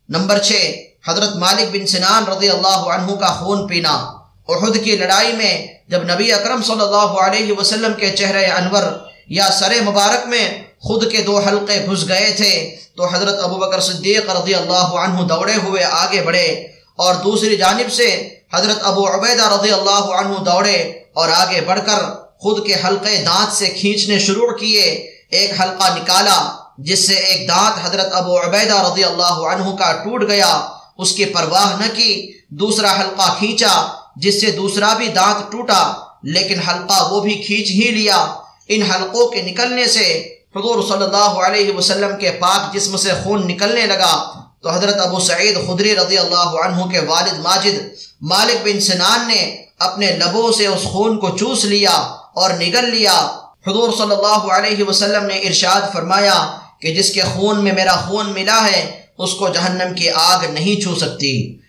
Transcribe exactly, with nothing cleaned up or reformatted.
Number چھ، حضرت مالک بن سنان رضی اللہ عنہ کا خون پینا۔ احد کی لڑائی میں جب نبی اکرم صلی اللہ علیہ وسلم کے چہرہ انور یا سر مبارک میں خود کے دو حلقے گھس گئے تھے تو حضرت ابوبکر صدیق رضی اللہ عنہ دوڑے ہوئے آگے بڑھے، اور دوسری جانب سے حضرت ابو عبیدہ رضی اللہ عنہ دوڑے اور آگے بڑھ کر خود کے حلقے دانت سے کھینچنے شروع کیے۔ ایک حلقہ نکالا جس سے ایک دانت حضرت ابو عبیدہ رضی اللہ عنہ کا ٹوٹ گیا، اس کی پرواہ نہ کی۔ دوسرا حلقہ کھینچا جس سے دوسرا بھی دانت ٹوٹا، لیکن حلقہ وہ بھی کھینچ ہی لیا۔ ان حلقوں کے نکلنے سے حضور صلی اللہ علیہ وسلم کے پاک جسم سے خون نکلنے لگا، تو حضرت ابو سعید خدری رضی اللہ عنہ کے والد ماجد مالک بن سنان نے اپنے لبوں سے اس خون کو چوس لیا اور نگل لیا۔ حضور صلی اللہ علیہ وسلم نے ارشاد فرمایا کہ جس کے خون میں میرا خون ملا ہے اس کو جہنم کی آگ نہیں چھو سکتی۔